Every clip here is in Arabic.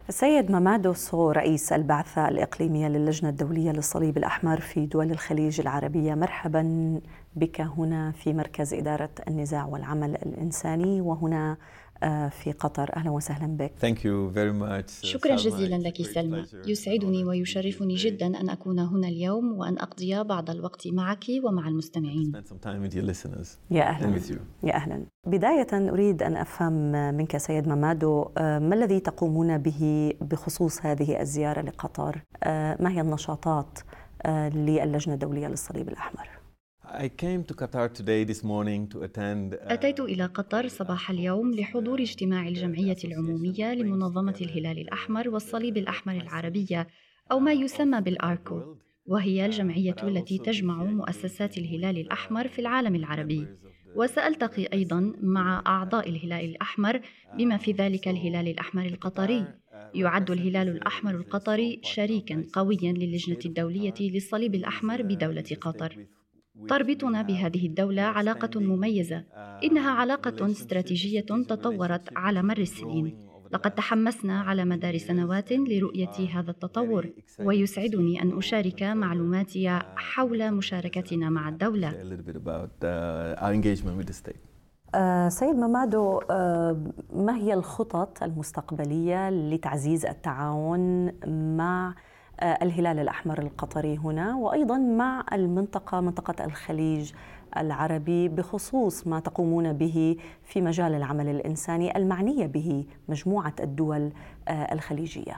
السيد مامادو سو رئيس البعثة الإقليمية للجنة الدولية للصليب الأحمر في دول الخليج العربية، مرحبا بك هنا في مركز إدارة النزاع والعمل الإنساني وهنا في قطر. أهلا وسهلا بك. شكرا جزيلا لك سلمى، يسعدني ويشرفني جدا أن أكون هنا اليوم وأن أقضي بعض الوقت معك ومع المستمعين. يا أهلا. يا أهلا. بداية أريد أن أفهم منك سيد مامادو، ما الذي تقومون به بخصوص هذه الزيارة لقطر؟ ما هي النشاطات للجنة الدولية للصليب الأحمر؟ أتيت إلى قطر صباح اليوم لحضور اجتماع الجمعية العمومية لمنظمة الهلال الأحمر والصليب الأحمر العربية، أو ما يسمى بالآركو، وهي الجمعية التي تجمع مؤسسات الهلال الأحمر في العالم العربي. وسألتقي أيضاً مع أعضاء الهلال الأحمر بما في ذلك الهلال الأحمر القطري. يعد الهلال الأحمر القطري شريكاً قوياً للجنة الدولية للصليب الأحمر بدولة قطر. تربطنا بهذه الدولة علاقة مميزة، إنها علاقة استراتيجية تطورت على مر السنين. لقد تحمسنا على مدار سنوات لرؤية هذا التطور، ويسعدني أن أشارك معلوماتي حول مشاركتنا مع الدولة. سيد مامادو، ما هي الخطط المستقبلية لتعزيز التعاون مع الهلال الأحمر القطري هنا وأيضا مع منطقة الخليج العربي بخصوص ما تقومون به في مجال العمل الإنساني المعنية به مجموعة الدول الخليجية؟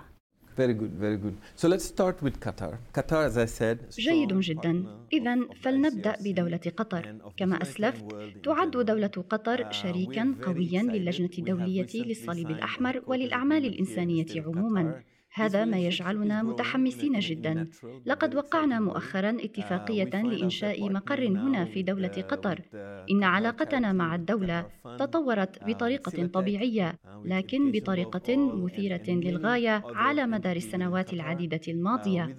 جيد جدا. إذن فلنبدأ بدولة قطر. كما أسلفت، تعد دولة قطر شريكا قويا للجنة الدولية للصليب الأحمر وللأعمال الإنسانية عموما. هذا ما يجعلنا متحمسين جدا. لقد وقعنا مؤخرا اتفاقية لإنشاء مقر هنا في دولة قطر. إن علاقتنا مع الدولة تطورت بطريقة طبيعية، لكن بطريقة مثيرة للغاية على مدار السنوات العديدة الماضية.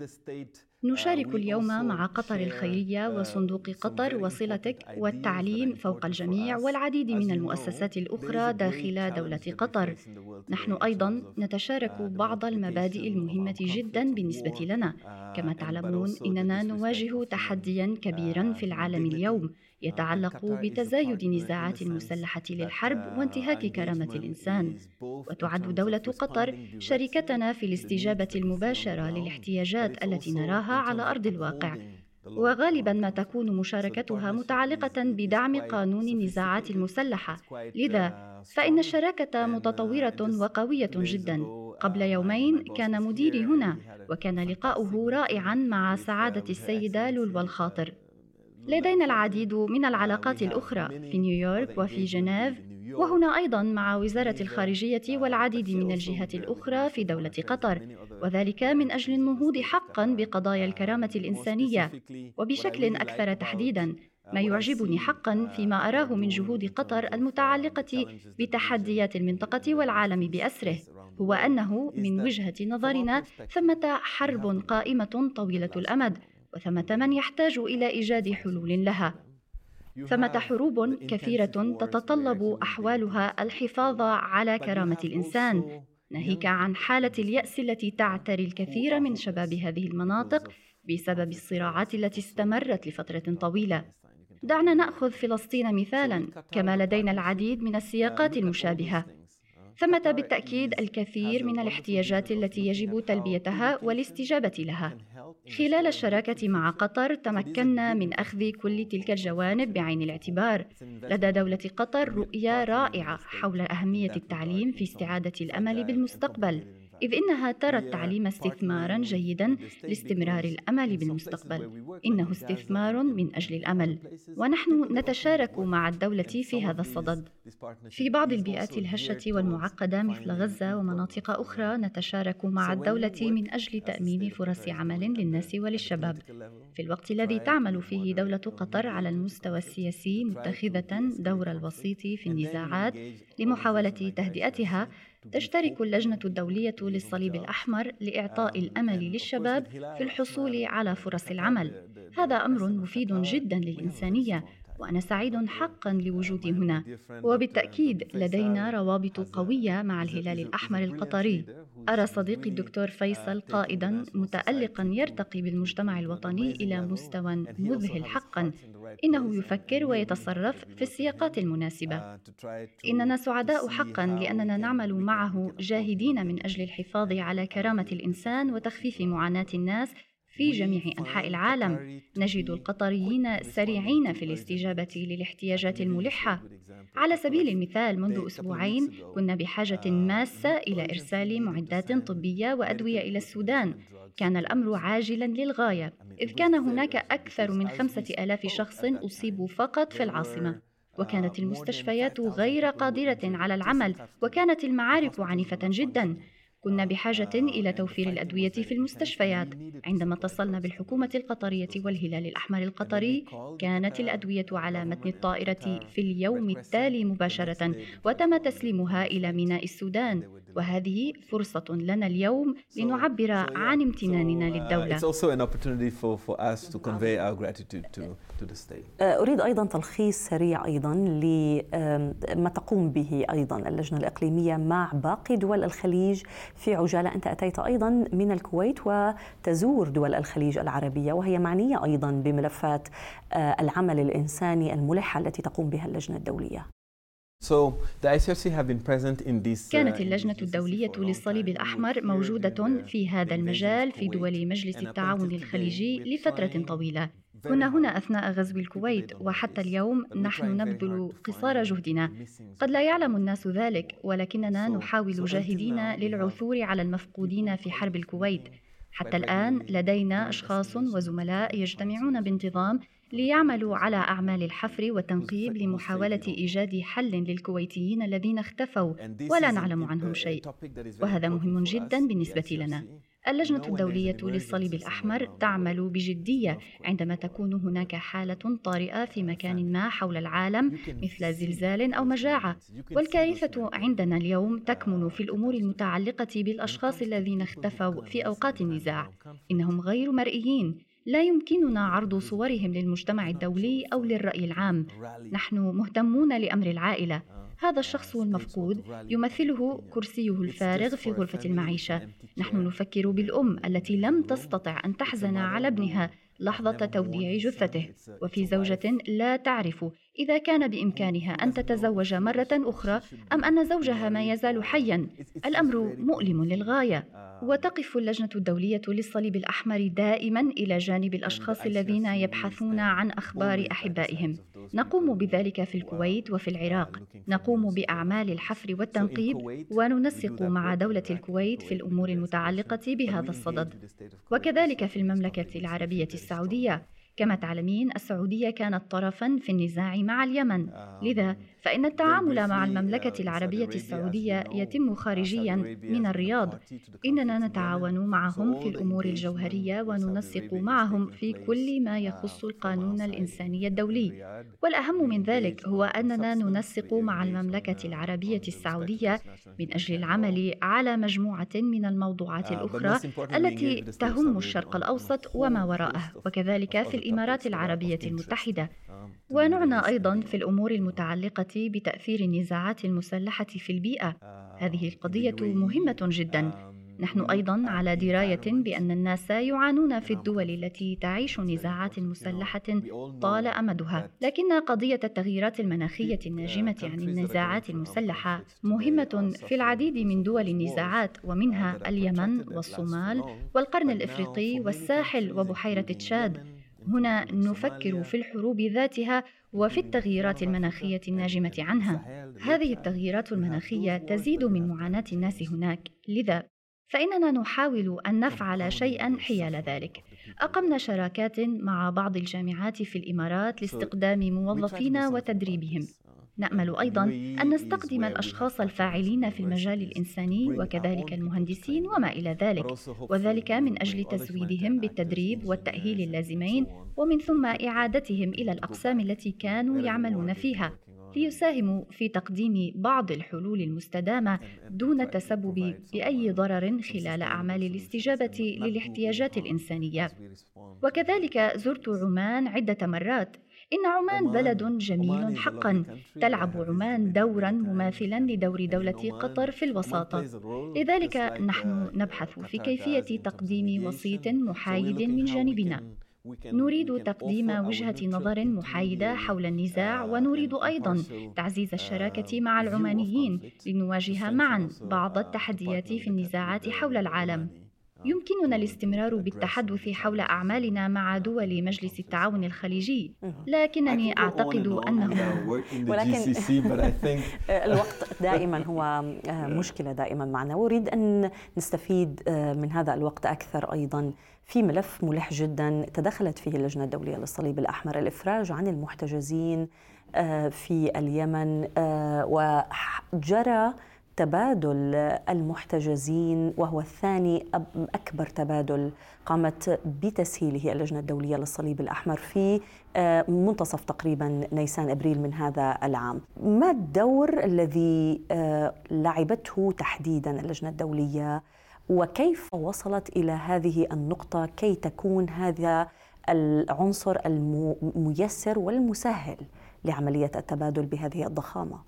نشارك اليوم مع قطر الخيرية وصندوق قطر وصلتك والتعليم فوق الجميع والعديد من المؤسسات الأخرى داخل دولة قطر. نحن أيضا نتشارك بعض المبادئ المهمة جدا بالنسبة لنا. كما تعلمون، إننا نواجه تحديا كبيرا في العالم اليوم يتعلق بتزايد النزاعات المسلحة للحرب وانتهاك كرامة الإنسان. وتعد دولة قطر شريكتنا في الاستجابة المباشرة للاحتياجات التي نراها على أرض الواقع، وغالبا ما تكون مشاركتها متعلقة بدعم قانون النزاعات المسلحة. لذا فإن الشراكة متطورة وقوية جدا. قبل يومين كان مديري هنا، وكان لقاؤه رائعا مع سعادة السيدة لولو الخاطر. لدينا العديد من العلاقات الأخرى في نيويورك وفي جنيف، وهنا أيضا مع وزارة الخارجية والعديد من الجهات الأخرى في دولة قطر، وذلك من أجل النهوض حقا بقضايا الكرامة الإنسانية. وبشكل أكثر تحديدا، ما يعجبني حقا فيما أراه من جهود قطر المتعلقة بتحديات المنطقة والعالم بأسره هو أنه من وجهة نظرنا ثمة حرب قائمة طويلة الأمد، وثمة من يحتاج إلى إيجاد حلول لها. ثمة حروب كثيرة تتطلب أحوالها الحفاظ على كرامة الإنسان، ناهيك عن حالة اليأس التي تعتري الكثير من شباب هذه المناطق بسبب الصراعات التي استمرت لفترة طويلة. دعنا نأخذ فلسطين مثالا، كما لدينا العديد من السياقات المشابهة. ثمة بالتأكيد الكثير من الاحتياجات التي يجب تلبيتها والاستجابة لها. خلال الشراكة مع قطر تمكنا من أخذ كل تلك الجوانب بعين الاعتبار. لدى دولة قطر رؤية رائعة حول أهمية التعليم في استعادة الأمل بالمستقبل، إذ إنها ترى التعليم استثماراً جيداً لاستمرار الأمل بالمستقبل. إنه استثمار من أجل الأمل، ونحن نتشارك مع الدولة في هذا الصدد. في بعض البيئات الهشة والمعقدة مثل غزة ومناطق أخرى نتشارك مع الدولة من أجل تأمين فرص عمل للناس وللشباب. في الوقت الذي تعمل فيه دولة قطر على المستوى السياسي متخذة دور الوسيط في النزاعات لمحاولة تهدئتها، تشترك اللجنة الدولية للصليب الأحمر لإعطاء الأمل للشباب في الحصول على فرص العمل. هذا أمر مفيد جدا للإنسانية، وأنا سعيد حقا لوجودي هنا. وبالتأكيد لدينا روابط قوية مع الهلال الأحمر القطري. أرى صديقي الدكتور فيصل قائدا متألقا يرتقي بالمجتمع الوطني إلى مستوى مذهل حقا. إنه يفكر ويتصرف في السياقات المناسبة. إننا سعداء حقا لأننا نعمل معه جاهدين من أجل الحفاظ على كرامة الإنسان وتخفيف معاناة الناس في جميع أنحاء العالم. نجد القطريين سريعين في الاستجابة للاحتياجات الملحة. على سبيل المثال، منذ أسبوعين كنا بحاجة ماسة إلى إرسال معدات طبية وأدوية إلى السودان. كان الأمر عاجلا للغاية، إذ كان هناك أكثر من 5,000 شخص أصيبوا فقط في العاصمة، وكانت المستشفيات غير قادرة على العمل، وكانت المعارك عنيفة جدا. كنا بحاجة إلى توفير الأدوية في المستشفيات. عندما اتصلنا بالحكومة القطرية والهلال الأحمر القطري، كانت الأدوية على متن الطائرة في اليوم التالي مباشرة، وتم تسليمها إلى ميناء السودان. وهذه فرصة لنا اليوم لنعبر عن امتناننا للدولة. أريد أيضا تلخيص سريع أيضا لما تقوم به أيضا اللجنة الإقليمية مع باقي دول الخليج في عجالة. أنت أتيت أيضا من الكويت وتزور دول الخليج العربية، وهي معنية أيضا بملفات العمل الإنساني الملحة التي تقوم بها اللجنة الدولية. كانت اللجنة الدولية للصليب الأحمر موجودة في هذا المجال في دول مجلس التعاون الخليجي لفترة طويلة. كنا هنا أثناء غزو الكويت، وحتى اليوم نحن نبذل قصارى جهدنا. قد لا يعلم الناس ذلك، ولكننا نحاول جاهدين للعثور على المفقودين في حرب الكويت. حتى الآن لدينا أشخاص وزملاء يجتمعون بانتظام ليعملوا على أعمال الحفر والتنقيب لمحاولة إيجاد حل للكويتيين الذين اختفوا ولا نعلم عنهم شيء، وهذا مهم جدا بالنسبة لنا. اللجنة الدولية للصليب الأحمر تعمل بجدية عندما تكون هناك حالة طارئة في مكان ما حول العالم، مثل زلزال أو مجاعة. والكارثة عندنا اليوم تكمن في الأمور المتعلقة بالأشخاص الذين اختفوا في أوقات النزاع. إنهم غير مرئيين، لا يمكننا عرض صورهم للمجتمع الدولي أو للرأي العام. نحن مهتمون لأمر العائلة. هذا الشخص المفقود يمثله كرسيه الفارغ في غرفة المعيشة. نحن نفكر بالأم التي لم تستطع أن تحزن على ابنها لحظة توديع جثته، وفي زوجة لا تعرف إذا كان بإمكانها أن تتزوج مرة أخرى أم أن زوجها ما يزال حياً. الأمر مؤلم للغاية. وتقف اللجنة الدولية للصليب الأحمر دائماً إلى جانب الأشخاص الذين يبحثون عن أخبار أحبائهم. نقوم بذلك في الكويت وفي العراق. نقوم بأعمال الحفر والتنقيب، وننسق مع دولة الكويت في الأمور المتعلقة بهذا الصدد، وكذلك في المملكة العربية السعودية. كما تعلمين، السعودية كانت طرفاً في النزاع مع اليمن، لذا فإن التعامل مع المملكة العربية السعودية يتم خارجياً من الرياض. إننا نتعاون معهم في الأمور الجوهرية وننسق معهم في كل ما يخص القانون الإنساني الدولي. والأهم من ذلك هو أننا ننسق مع المملكة العربية السعودية من أجل العمل على مجموعة من الموضوعات الأخرى التي تهم الشرق الأوسط وما وراءه، وكذلك في الإمارات العربية المتحدة. ونعنى أيضاً في الأمور المتعلقة بتأثير النزاعات المسلحة في البيئة. هذه القضية مهمة جداً. نحن أيضاً على دراية بأن الناس يعانون في الدول التي تعيش نزاعات مسلحة طال أمدها، لكن قضية التغييرات المناخية الناجمة عن النزاعات المسلحة مهمة في العديد من دول النزاعات، ومنها اليمن والصومال والقرن الإفريقي والساحل وبحيرة تشاد. هنا نفكر في الحروب ذاتها وفي التغييرات المناخية الناجمة عنها. هذه التغييرات المناخية تزيد من معاناة الناس هناك، لذا فإننا نحاول أن نفعل شيئاً حيال ذلك. أقمنا شراكات مع بعض الجامعات في الإمارات لاستقدام موظفين وتدريبهم. نأمل أيضاً أن نستقدم الأشخاص الفاعلين في المجال الإنساني وكذلك المهندسين وما إلى ذلك، وذلك من أجل تزويدهم بالتدريب والتأهيل اللازمين، ومن ثم إعادتهم إلى الأقسام التي كانوا يعملون فيها، ليساهموا في تقديم بعض الحلول المستدامة دون تسبب بأي ضرر خلال أعمال الاستجابة للاحتياجات الإنسانية. وكذلك زرت عمان عدة مرات إن عمان بلد جميل حقا، تلعب عمان دورا مماثلا لدور دولة قطر في الوساطة. لذلك نحن نبحث في كيفية تقديم وسيط محايد من جانبنا. نريد تقديم وجهة نظر محايدة حول النزاع، ونريد أيضاً تعزيز الشراكة مع العمانيين لنواجه معاً بعض التحديات في النزاعات حول العالم. يمكننا الاستمرار بالتحدث حول أعمالنا مع دول مجلس التعاون الخليجي، لكنني أعتقد أنه ولكن الوقت دائما هو مشكلة دائما معنا، وأريد أن نستفيد من هذا الوقت أكثر أيضا في ملف ملح جدا تدخلت فيه اللجنة الدولية للصليب الأحمر، الإفراج عن المحتجزين في اليمن، وجرى تبادل المحتجزين وهو الثاني أكبر تبادل قامت بتسهيله اللجنة الدولية للصليب الأحمر في منتصف تقريبا نيسان أبريل من هذا العام. ما الدور الذي لعبته تحديدا اللجنة الدولية، وكيف وصلت إلى هذه النقطة كي تكون هذا العنصر الميسر والمسهل لعملية التبادل بهذه الضخامة؟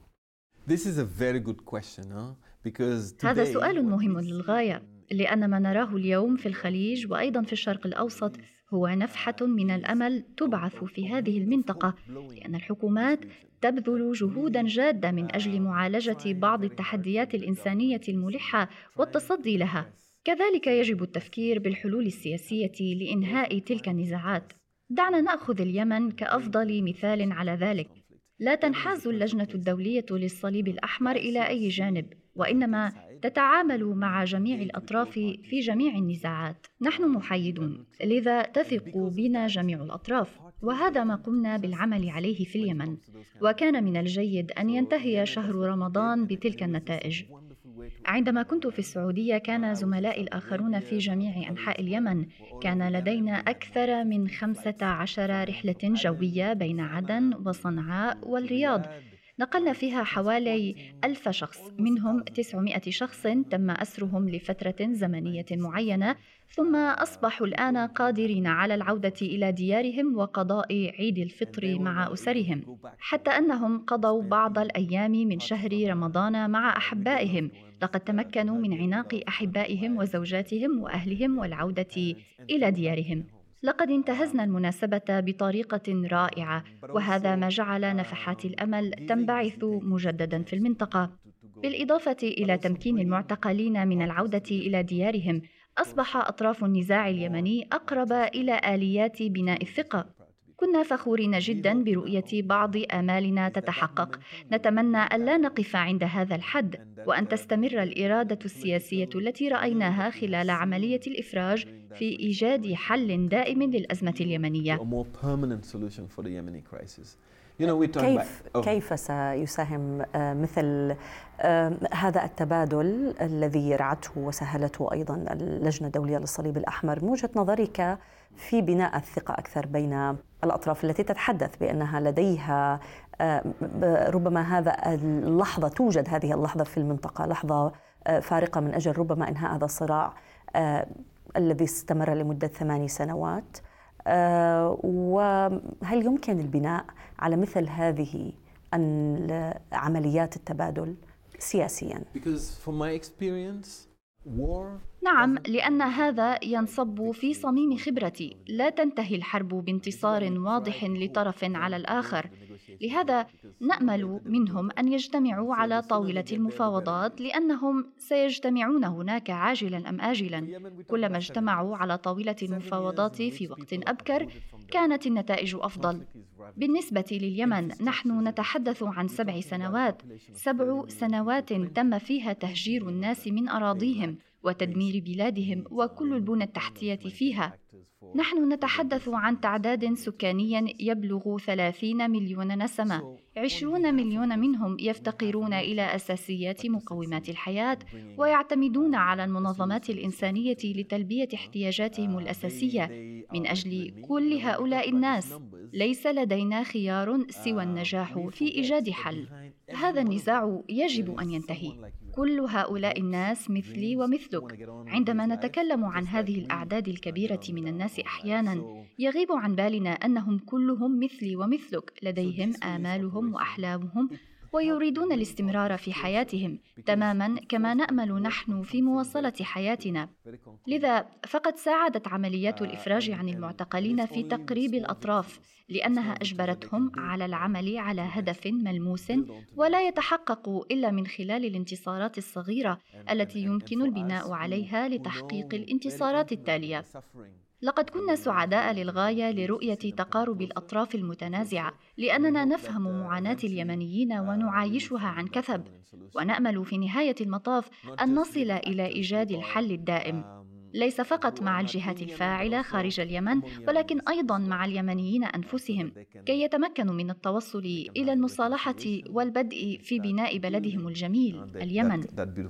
هذا سؤال مهم للغاية، لأن ما نراه اليوم في الخليج وأيضاً في الشرق الأوسط هو نفحة من الأمل تبعث في هذه المنطقة، لأن الحكومات تبذل جهوداً جادة من أجل معالجة بعض التحديات الإنسانية الملحة والتصدي لها. كذلك يجب التفكير بالحلول السياسية لإنهاء تلك النزاعات. دعنا نأخذ اليمن كأفضل مثال على ذلك. لا تنحاز اللجنة الدولية للصليب الأحمر إلى أي جانب، وإنما تتعامل مع جميع الأطراف في جميع النزاعات. نحن محايدون، لذا تثق بنا جميع الأطراف، وهذا ما قمنا بالعمل عليه في اليمن. وكان من الجيد أن ينتهي شهر رمضان بتلك النتائج. عندما كنت في السعودية كان زملائي الآخرون في جميع أنحاء اليمن، كان لدينا أكثر من 15 رحلة جوية بين عدن وصنعاء والرياض، نقلنا فيها حوالي 1000 شخص، منهم 900 شخص تم أسرهم لفترة زمنية معينة، ثم أصبحوا الآن قادرين على العودة إلى ديارهم وقضاء عيد الفطر مع أسرهم، حتى أنهم قضوا بعض الأيام من شهر رمضان مع أحبائهم. لقد تمكنوا من عناق أحبائهم وزوجاتهم وأهلهم والعودة إلى ديارهم. لقد انتهزنا المناسبة بطريقة رائعة، وهذا ما جعل نفحات الأمل تنبعث مجددا في المنطقة. بالإضافة إلى تمكين المعتقلين من العودة إلى ديارهم، أصبح أطراف النزاع اليمني أقرب إلى آليات بناء الثقة. كنا فخورين جدا برؤية بعض آمالنا تتحقق. نتمنى ألا نقف عند هذا الحد، وأن تستمر الإرادة السياسية التي رأيناها خلال عملية الإفراج في إيجاد حل دائم للأزمة اليمنية. كيف سيساهم مثل هذا التبادل الذي رعته وسهلته أيضا اللجنة الدولية للصليب الأحمر من وجهة نظرك في بناء الثقة أكثر بين الأطراف التي تتحدث بأنها لديها ربما هذا اللحظة، توجد هذه اللحظة في المنطقة لحظة فارقة من أجل ربما إنهاء هذا الصراع الذي استمر لمدة 8 سنوات، وهل يمكن البناء على مثل هذه عمليات التبادل سياسياً؟ نعم، لأن هذا ينصب في صميم خبرتي. لا تنتهي الحرب بانتصار واضح لطرف على الآخر، لهذا نأمل منهم أن يجتمعوا على طاولة المفاوضات، لأنهم سيجتمعون هناك عاجلاً أم آجلاً. كلما اجتمعوا على طاولة المفاوضات في وقت أبكر كانت النتائج أفضل. بالنسبة لليمن، نحن نتحدث عن 7 سنوات، 7 سنوات تم فيها تهجير الناس من أراضيهم وتدمير بلادهم وكل البنى التحتية فيها. نحن نتحدث عن تعداد سكاني يبلغ 30 مليون نسمة، 20 مليون منهم يفتقرون إلى أساسيات مقومات الحياة ويعتمدون على المنظمات الإنسانية لتلبية احتياجاتهم الأساسية. من أجل كل هؤلاء الناس ليس لدينا خيار سوى النجاح في إيجاد حل. هذا النزاع يجب أن ينتهي. كل هؤلاء الناس مثلي ومثلك. عندما نتكلم عن هذه الأعداد الكبيرة من الناس أحياناً يغيب عن بالنا أنهم كلهم مثلي ومثلك، لديهم آمالهم وأحلامهم ويريدون الاستمرار في حياتهم تماماً كما نأمل نحن في مواصلة حياتنا. لذا فقد ساعدت عمليات الإفراج عن المعتقلين في تقريب الأطراف، لأنها أجبرتهم على العمل على هدف ملموس ولا يتحقق إلا من خلال الانتصارات الصغيرة التي يمكن البناء عليها لتحقيق الانتصارات التالية. لقد كنا سعداء للغاية لرؤية تقارب الأطراف المتنازعة، لأننا نفهم معاناة اليمنيين ونعايشها عن كثب، ونأمل في نهاية المطاف أن نصل إلى إيجاد الحل الدائم، ليس فقط مع الجهات الفاعلة خارج اليمن، ولكن أيضاً مع اليمنيين أنفسهم، كي يتمكنوا من التوصل إلى المصالحة والبدء في بناء بلدهم الجميل اليمن.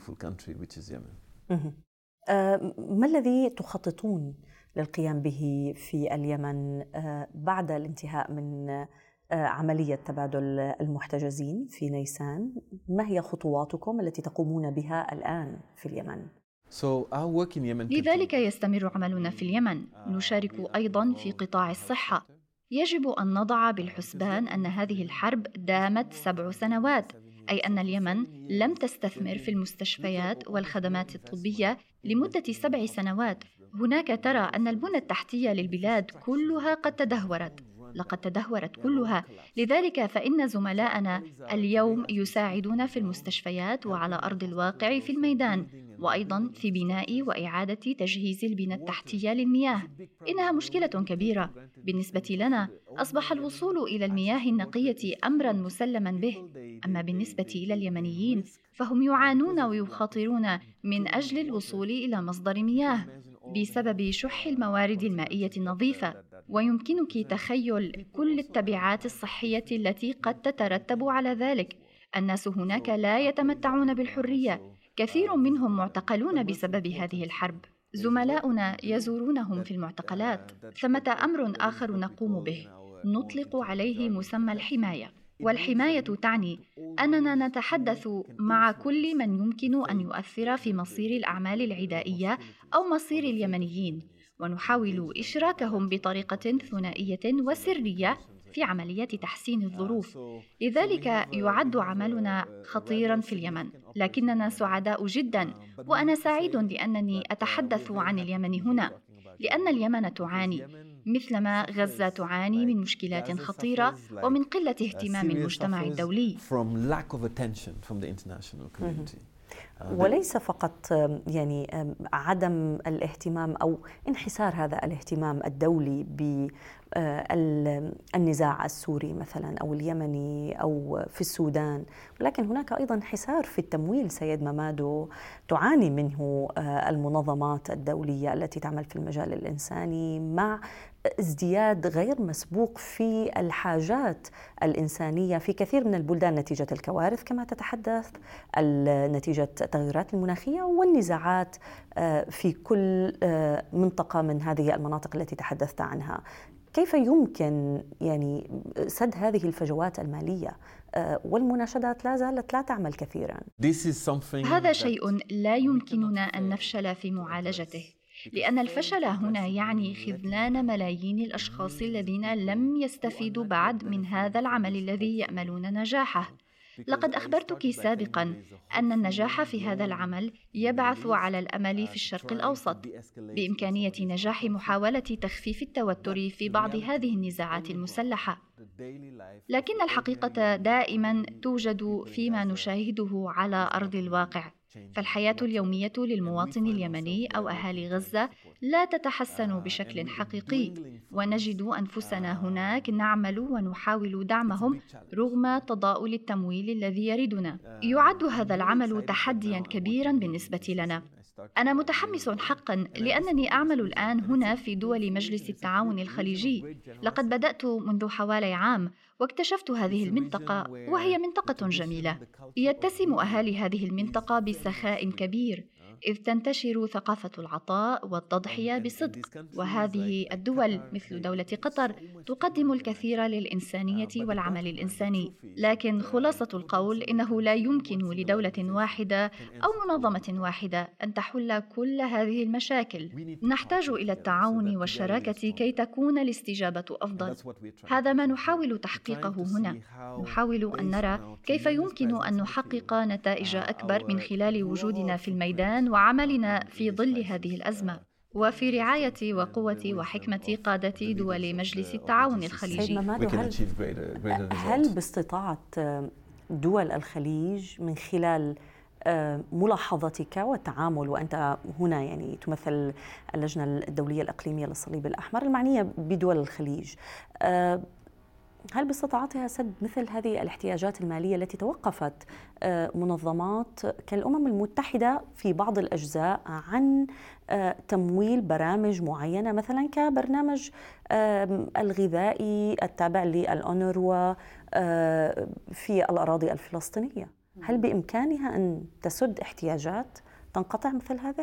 ما الذي تخططون للقيام به في اليمن بعد الانتهاء من عملية تبادل المحتجزين في نيسان؟ ما هي خطواتكم التي تقومون بها الآن في اليمن؟ لذلك يستمر عملنا في اليمن. نشارك أيضاً في قطاع الصحة. يجب أن نضع بالحسبان أن هذه الحرب دامت 7 سنوات، أي أن اليمن لم تستثمر في المستشفيات والخدمات الطبية لمدة 7 سنوات. هناك ترى أن البنى التحتية للبلاد كلها قد تدهورت، لقد تدهورت كلها. لذلك فإن زملائنا اليوم يساعدون في المستشفيات وعلى أرض الواقع في الميدان، وأيضاً في بناء وإعادة تجهيز البنى التحتية للمياه. إنها مشكلة كبيرة. بالنسبة لنا أصبح الوصول إلى المياه النقية أمراً مسلماً به، أما بالنسبة إلى اليمنيين فهم يعانون ويخاطرون من أجل الوصول إلى مصدر مياه بسبب شح الموارد المائية النظيفة. ويمكنك تخيل كل التبعات الصحية التي قد تترتب على ذلك. الناس هناك لا يتمتعون بالحرية، كثير منهم معتقلون بسبب هذه الحرب. زملاؤنا يزورونهم في المعتقلات. ثمة أمر آخر نقوم به، نطلق عليه مسمى الحماية. والحماية تعني أننا نتحدث مع كل من يمكن أن يؤثر في مصير الأعمال العدائية أو مصير اليمنيين، ونحاول إشراكهم بطريقة ثنائية وسرية في عمليات تحسين الظروف. لذلك يعد عملنا خطيراً في اليمن، لكننا سعداء جداً، وأنا سعيد لأنني أتحدث عن اليمن هنا، لأن اليمن تعاني مثلما غزة تعاني من مشكلات خطيرة ومن قلة اهتمام المجتمع الدولي. وليس فقط يعني عدم الاهتمام أو انحسار هذا الاهتمام الدولي بالنزاع السوري مثلا أو اليمني أو في السودان، ولكن هناك أيضا انحسار في التمويل سيد ممادو تعاني منه المنظمات الدولية التي تعمل في المجال الإنساني، مع ازدياد غير مسبوق في الحاجات الإنسانية في كثير من البلدان نتيجة الكوارث كما تتحدث، نتيجة التغيرات المناخية والنزاعات في كل منطقة من هذه المناطق التي تحدثت عنها. كيف يمكن يعني سد هذه الفجوات المالية والمناشدات لا زالت لا تعمل كثيرا؟ هذا شيء لا يمكننا أن نفشل في معالجته، لأن الفشل هنا يعني خذلان ملايين الأشخاص الذين لم يستفيدوا بعد من هذا العمل الذي يأملون نجاحه. لقد أخبرتك سابقاً أن النجاح في هذا العمل يبعث على الأمل في الشرق الأوسط، بإمكانية نجاح محاولة تخفيف التوتر في بعض هذه النزاعات المسلحة. لكن الحقيقة دائماً توجد فيما نشاهده على أرض الواقع. فالحياة اليومية للمواطن اليمني أو أهالي غزة لا تتحسن بشكل حقيقي، ونجد أنفسنا هناك نعمل ونحاول دعمهم رغم تضاؤل التمويل الذي يردنا. يعد هذا العمل تحدياً كبيراً بالنسبة لنا. أنا متحمس حقاً لأنني أعمل الآن هنا في دول مجلس التعاون الخليجي. لقد بدأت منذ حوالي عام واكتشفت هذه المنطقة، وهي منطقة جميلة. يتسم أهالي هذه المنطقة بسخاء كبير. إذ تنتشر ثقافة العطاء والتضحية بصدق، وهذه الدول مثل دولة قطر تقدم الكثير للإنسانية والعمل الإنساني. لكن خلاصة القول إنه لا يمكن لدولة واحدة أو منظمة واحدة أن تحل كل هذه المشاكل. نحتاج إلى التعاون والشراكة كي تكون الاستجابة أفضل. هذا ما نحاول تحقيقه هنا. نحاول أن نرى كيف يمكن أن نحقق نتائج أكبر من خلال وجودنا في الميدان وعملنا في ظل هذه الأزمة، وفي رعاية وقوة وحكمة قادة دول مجلس التعاون الخليجي. سيد ممادو، هل باستطاعة دول الخليج من خلال ملاحظتك والتعامل، وأنت هنا يعني تمثل اللجنة الدولية الإقليمية للصليب الأحمر المعنية بدول الخليج، هل باستطاعتها سد مثل هذه الاحتياجات المالية التي توقفت منظمات كالأمم المتحدة في بعض الأجزاء عن تمويل برامج معينة، مثلا كبرنامج الغذائي التابع للأونروا في الأراضي الفلسطينية؟ هل بإمكانها أن تسد احتياجات تنقطع مثل هذه؟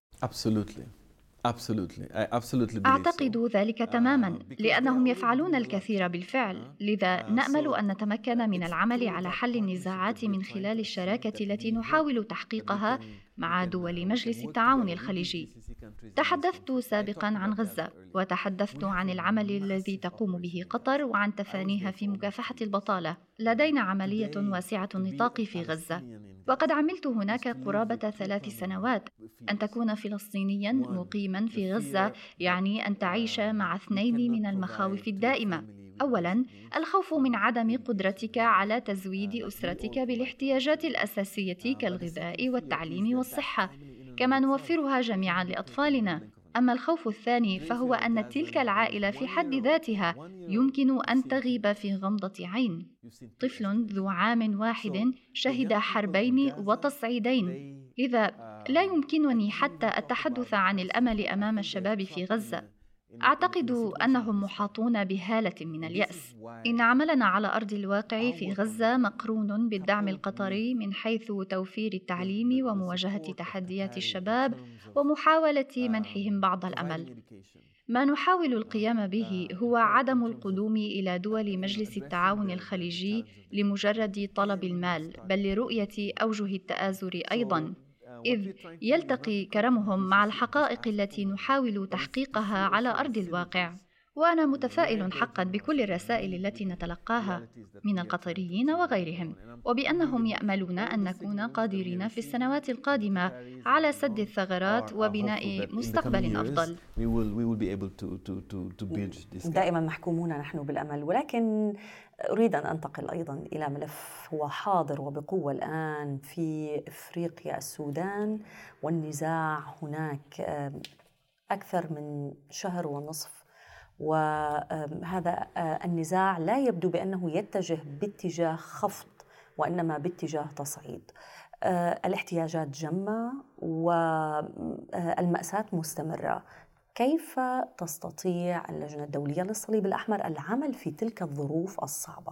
أعتقد ذلك تماما، لأنهم يفعلون الكثير بالفعل. لذا نأمل أن نتمكن من العمل على حل النزاعات من خلال الشراكة التي نحاول تحقيقها مع دول مجلس التعاون الخليجي. تحدثت سابقا عن غزة، وتحدثت عن العمل الذي تقوم به قطر وعن تفانيها في مكافحة البطالة. لدينا عملية واسعة النطاق في غزة، وقد عملت هناك قرابة 3 سنوات. أن تكون فلسطينيا مقيما في غزة يعني أن تعيش مع 2 من المخاوف الدائمة. أولاً، الخوف من عدم قدرتك على تزويد أسرتك بالاحتياجات الأساسية كالغذاء والتعليم والصحة، كما نوفرها جميعاً لأطفالنا. أما الخوف الثاني فهو أن تلك العائلة في حد ذاتها يمكن أن تغيب في غمضة عين. طفل ذو عام واحد شهد حربين وتصعيدين، لذا لا يمكنني حتى التحدث عن الأمل أمام الشباب في غزة. أعتقد أنهم محاطون بهالة من اليأس. إن عملنا على أرض الواقع في غزة مقرون بالدعم القطري من حيث توفير التعليم ومواجهة تحديات الشباب ومحاولة منحهم بعض الأمل. ما نحاول القيام به هو عدم القدوم إلى دول مجلس التعاون الخليجي لمجرد طلب المال، بل لرؤية أوجه التآزر أيضاً، إذ يلتقي كرمهم مع الحقائق التي نحاول تحقيقها على أرض الواقع. وأنا متفائل حقا بكل الرسائل التي نتلقاها من القطريين وغيرهم، وبأنهم يأملون أن نكون قادرين في السنوات القادمة على سد الثغرات وبناء مستقبل أفضل. دائما محكومون نحن بالأمل، ولكن أريد أن أنتقل أيضا إلى ملف هو حاضر وبقوة الآن في إفريقيا، السودان والنزاع هناك أكثر من 1.5 شهر، وهذا النزاع لا يبدو بأنه يتجه باتجاه خفض وإنما باتجاه تصعيد. الاحتياجات جمة والمأساة مستمرة. كيف تستطيع اللجنة الدولية للصليب الأحمر العمل في تلك الظروف الصعبة؟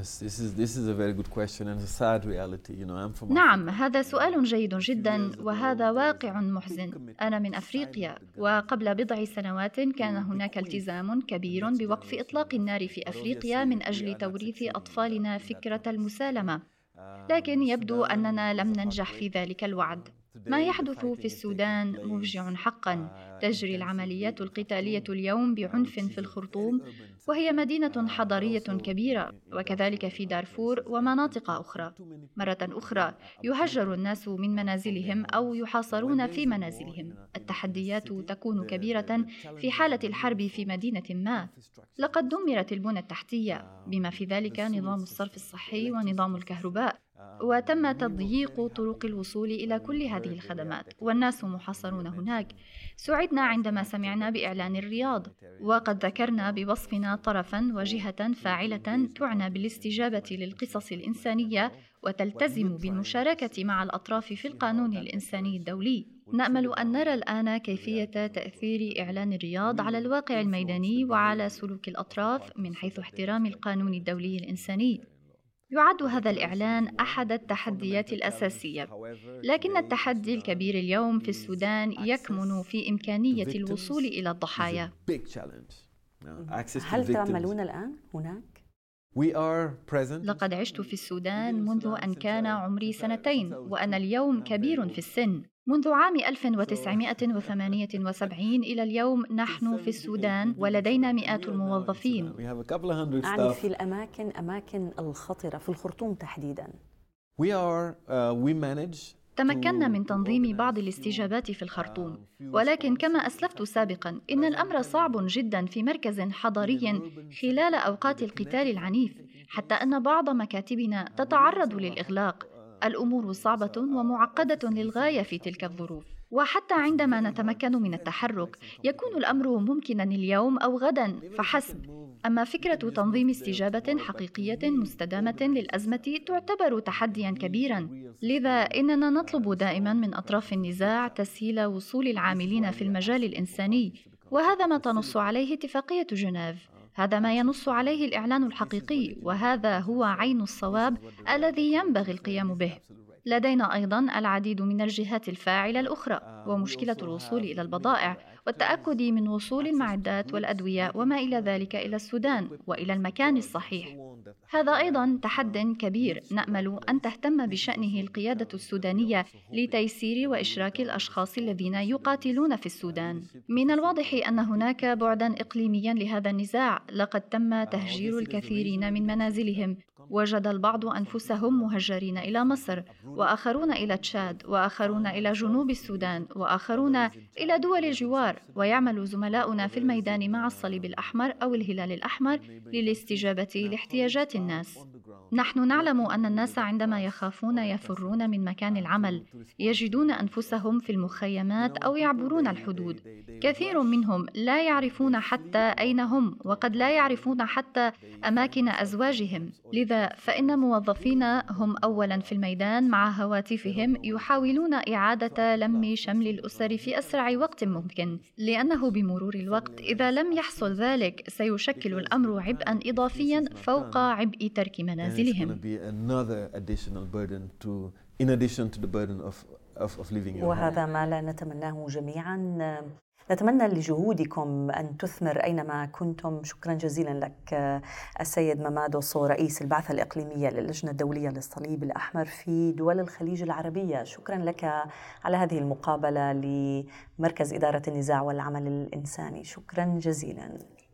نعم، هذا سؤال جيد جدا، وهذا واقع محزن. أنا من أفريقيا، وقبل 4 سنوات كان هناك التزام كبير بوقف إطلاق النار في أفريقيا من أجل توريث أطفالنا فكرة المسالمة، لكن يبدو أننا لم ننجح في ذلك الوعد. ما يحدث في السودان مفجع حقا. تجري العمليات القتالية اليوم بعنف في الخرطوم، وهي مدينة حضرية كبيرة، وكذلك في دارفور ومناطق أخرى. مرة أخرى يهجر الناس من منازلهم أو يحاصرون في منازلهم. التحديات تكون كبيرة في حالة الحرب في مدينة ما. لقد دمرت البنى التحتية، بما في ذلك نظام الصرف الصحي ونظام الكهرباء، وتم تضييق طرق الوصول إلى كل هذه الخدمات، والناس محاصرون هناك. سعدنا عندما سمعنا بإعلان الرياض، وقد ذكرنا بوصفنا طرفاً وجهة فاعلة تعنى بالاستجابة للقصص الإنسانية وتلتزم بالمشاركة مع الأطراف في القانون الإنساني الدولي. نأمل أن نرى الآن كيفية تأثير إعلان الرياض على الواقع الميداني وعلى سلوك الأطراف من حيث احترام القانون الدولي الإنساني. يعد هذا الإعلان أحد التحديات الأساسية، لكن التحدي الكبير اليوم في السودان يكمن في إمكانية الوصول إلى الضحايا. هل تعملون الآن هناك؟ لقد عشت في السودان منذ أن كان عمري 2 وأنا اليوم كبير في السن. منذ عام 1978 إلى اليوم نحن في السودان ولدينا مئات الموظفين. أعني في أماكن الخطرة في الخرطوم تحديداً. تمكنا من تنظيم بعض الاستجابات في الخرطوم، ولكن كما أسلفت سابقاً إن الأمر صعب جداً في مركز حضري خلال أوقات القتال العنيف، حتى أن بعض مكاتبنا تتعرض للإغلاق. الأمور صعبة ومعقدة للغاية في تلك الظروف، وحتى عندما نتمكن من التحرك يكون الأمر ممكناً اليوم أو غداً فحسب. أما فكرة تنظيم استجابة حقيقية مستدامة للأزمة تعتبر تحدياً كبيراً، لذا إننا نطلب دائماً من أطراف النزاع تسهيل وصول العاملين في المجال الإنساني، وهذا ما تنص عليه اتفاقية جنيف. هذا ما ينص عليه الإعلان الحقيقي، وهذا هو عين الصواب الذي ينبغي القيام به. لدينا أيضاً العديد من الجهات الفاعلة الأخرى، ومشكلة الوصول إلى البضائع والتأكد من وصول المعدات والأدوية وما إلى ذلك إلى السودان وإلى المكان الصحيح. هذا أيضاً تحد كبير نأمل أن تهتم بشأنه القيادة السودانية لتيسير وإشراك الأشخاص الذين يقاتلون في السودان. من الواضح أن هناك بعداً إقليمياً لهذا النزاع. لقد تم تهجير الكثيرين من منازلهم، وجد البعض أنفسهم مهجرين إلى مصر، وآخرون إلى تشاد، وآخرون إلى جنوب السودان، وآخرون إلى دول الجوار. ويعمل زملاؤنا في الميدان مع الصليب الأحمر أو الهلال الأحمر للاستجابة لاحتياجات الناس. نحن نعلم أن الناس عندما يخافون يفرون من مكان العمل، يجدون أنفسهم في المخيمات أو يعبرون الحدود. كثير منهم لا يعرفون حتى أين هم، وقد لا يعرفون حتى أماكن أزواجهم. لذا فإن موظفينا هم أولاً في الميدان مع هواتفهم يحاولون إعادة لم شمل الأسر في أسرع وقت ممكن، لأنه بمرور الوقت إذا لم يحصل ذلك سيشكل الأمر عبئاً إضافياً فوق عبء ترك منازلهم. وهذا ما لا نتمناه جميعاً. نتمنى لجهودكم أن تثمر أينما كنتم. شكرا جزيلا لك السيد ممادو صو، رئيس البعثة الإقليمية للجنة الدولية للصليب الأحمر في دول الخليج العربية. شكرا لك على هذه المقابلة لمركز إدارة النزاع والعمل الإنساني. شكرا جزيلا.